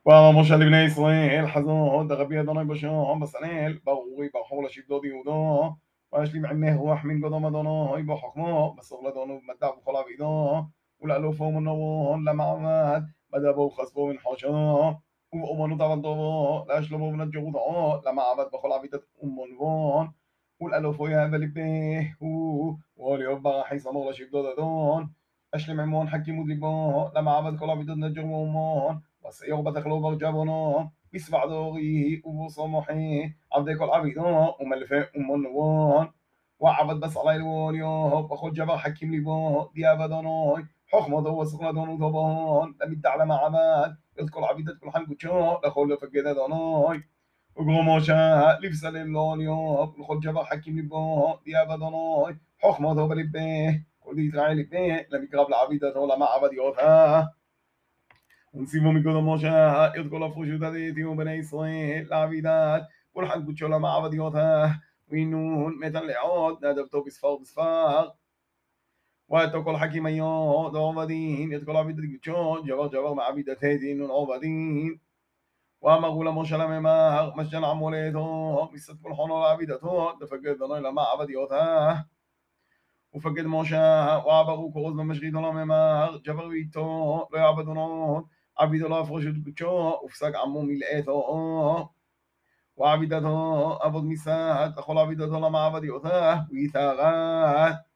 ואמר משה לבני ישראל חזון דרבי אדוני בשום בסנאל ברורי ברחור לשבדו דיודו וישלים עמי רוח מן קודם אדוני בחכמו בסור לדונו במדע בכל עבידו ולאלופו מנורון למעמד בדבו חשפו מן חושו ובאמנות עבדו להשלמו בן הג'רותו למעבד בכל עבידת ומונבון ולאלופו יהב לבהו וליוב ברחי סמור לשבדו דדון אשלים עמון חכימות ליבו למעבד כל עבידות נג'ר ואומון وسيغ بتخلو برجبنا بسبع دوري وصمحي عبد كل عبيدنا وملفاء ومنوان وعبد بس على الواليا بخل جبا حكيم لبا دي أبداناي حكمة وسقنا دون وضبان لمد على معبد يذكر عبيدة كل حن قتشا لخل فجدا داناي وقماشا لبس للاليا بخل جبا حكيم لبا دي أبداناي حكمة وبلبه كل دي تراعي لبه لم يقرب العبيدة ولا معبد يوثا ونسيبهم مقدم موشا يذكر الفوشو تديتي وبني إسرائيل العبيدات والحق بتشولا مع عبديوتها وينون متى لعود نادبتو بصفار واتقوا الحكيم أيوه عبدين يذكر عبيدة بتشون جبر مع عبيدة هيدين عبدين وأما غولا موشا لما مشجن عموليتو بسد كل حنو عبيدتو دفقد ضنويل مع عبديوتها وفقد موشا وعبروا كروز بمشغيد لما جبر ويتو لا يعبدون عبد الله فرشد قدشو وفسق عمو ملئته وعبدته أبد مساحت أخول عبدته لما عبد يؤثاه ويثاغات